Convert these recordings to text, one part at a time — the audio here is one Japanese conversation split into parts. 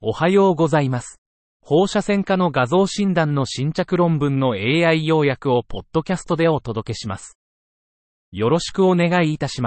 おはようございます。放射線科の画像診断の新着論文の AI 要約をポッドキャストでお届けします。よろしくお願いいたします。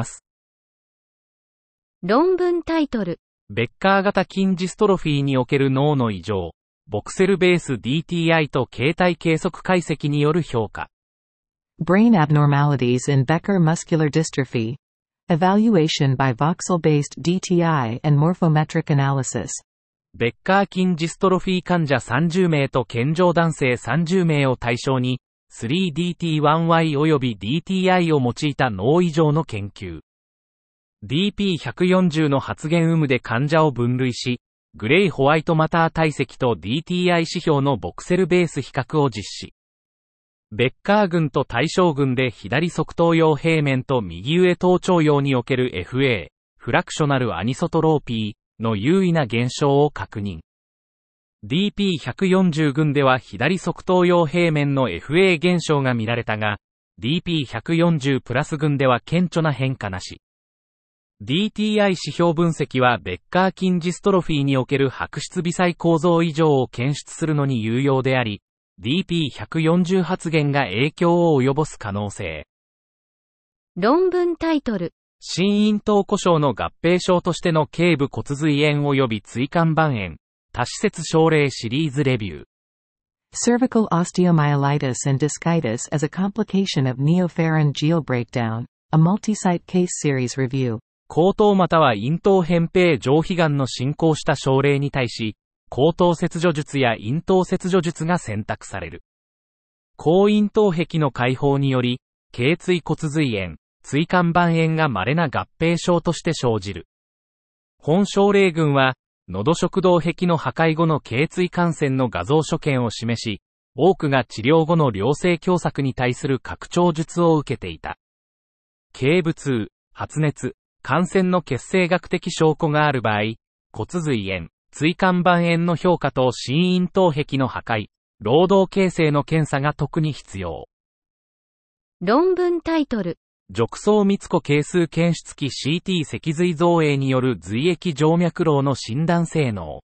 論文タイトル。 ベッカー型筋ジストロフィーにおける脳の異常、ボクセルベース DTI と形態計測解析による評価。 Brain abnormalities in Becker muscular dystrophy. Evaluation by voxel-based DTI and morphometric analysis. ベッカー筋ジストロフィー患者30名と健常男性30名を対象に、3DT1Y 及び DTI を用いた脳異常の研究。DP140 の発現有無で患者を分類し、グレイホワイトマター体積と DTI 指標のボクセルベース比較を実施。ベッカー群と対象群で左側頭葉平面と右上頭頂葉における FA、フラクショナルアニソトローピーの優位な減少を確認。DP140 群では左側頭葉平面の FA 減少が見られたが、DP140 プラス群では顕著な変化なし。DTI 指標分析はベッカー筋ジストロフィーにおける白質微細構造異常を検出するのに有用であり、DP140 発現が影響を及ぼす可能性。 論文タイトル。 心咽頭故障の合併症としての頸部骨髄炎及び椎間板炎、多施設症例シリーズレビュー。 Cervical osteomyelitis and discitis as a complication of neopharyngeal breakdown, a multi-site case series review. 後頭または咽頭扁平上皮がんの進行した症例に対し、後頭切除術や咽頭切除術が選択される。後咽頭壁の開放により、頸椎骨髄炎、椎間板炎が稀な合併症として生じる。本症例群は、喉食道壁の破壊後の頸椎感染の画像所見を示し、多くが治療後の良性狭窄に対する拡張術を受けていた。頸部痛、発熱、感染の血清学的証拠がある場合、骨髄炎、椎間板炎の評価と心咽頭壁の破壊、労働形成の検査が特に必要。 論文タイトル。 褥瘡密度係数検出器 CT 脊髄造影による髄液静脈瘻の診断性能。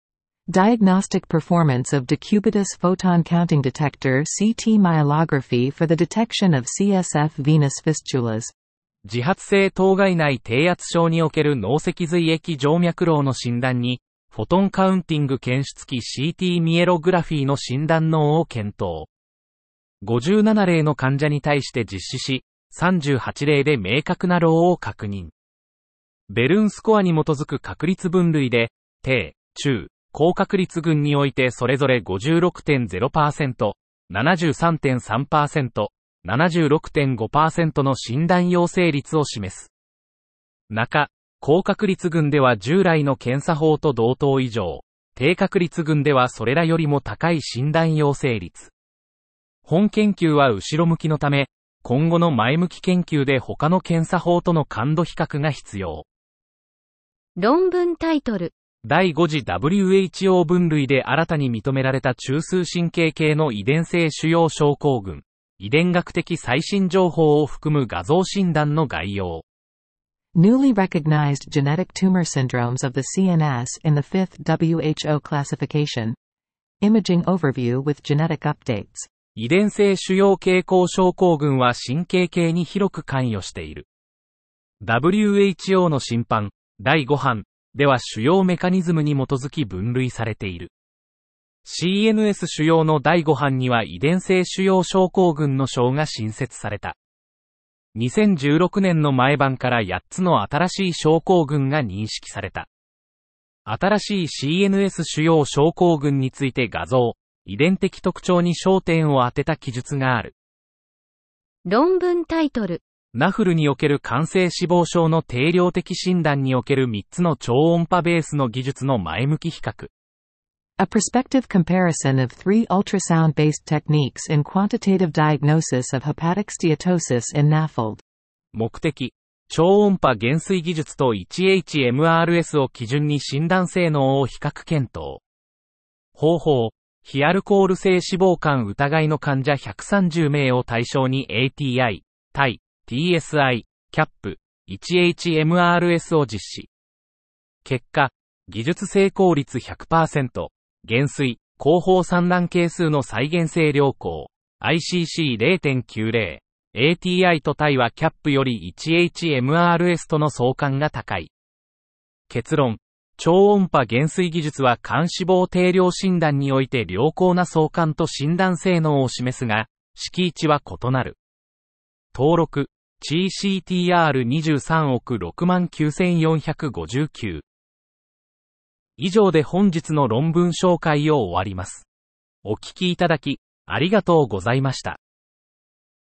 Diagnostic performance of decubitus photon counting detector CT myelography for the detection of CSF venous fistulas. 自発性頭蓋内低圧症における脳脊髄液静脈瘻の診断に、フォトンカウンティング検出器 CT ミエログラフィーの診断能を検討。57例の患者に対して実施し、38例で明確な瘻を確認。ベルンスコアに基づく確率分類で、低、中、高確率群においてそれぞれ 56.0%、73.3%、76.5% の診断陽性率を示す。中、高確率群では従来の検査法と同等以上、低確率群ではそれらよりも高い診断陽性率。本研究は後ろ向きのため、今後の前向き研究で他の検査法との感度比較が必要。 論文タイトル。 第5次 WHO 分類で新たに認められた中枢神経系の遺伝性腫瘍症候群、遺伝学的最新情報を含む画像診断の概要。 Newly recognized genetic tumor syndromes of the CNS in the 5th WHO classification. Imaging overview with genetic updates. 遺伝性腫瘍傾向症候群は神経系に広く関与している。WHO の審判、第5版では腫瘍メカニズムに基づき分類されている。CNS 腫瘍の第5版には遺伝性腫瘍症候群の章が新設された。2016年の前版から8つの新しい症候群が認識された。新しい CNS 腫瘍症候群について画像、遺伝的特徴に焦点を当てた記述がある。 論文タイトル。 ナフルにおける肝性脂肪症の定量的診断における3つの超音波ベースの技術の前向き比較。 A prospective comparison of 3 ultrasound-based techniques in quantitative diagnosis of hepatic steatosis in NAFLD. 目的、超音波減衰技術と 1HMRS を基準に診断性能を比較検討。方法、非アルコール性脂肪肝疑いの患者130名を対象に ATI、TI、TSI、CAP、1HMRS を実施。結果、 技術成功率 100%、減衰、後方産卵係数の再現性良好、ICC0.90、ATI と対はキャップより 1HMRS との相関が高い。結論、超音波減衰技術は肝脂肪定量診断において良好な相関と診断性能を示すが、式値は異なる。登録、CCTR23 億69459。以上で本日の論文紹介を終わります。お聞きいただき、ありがとうございました。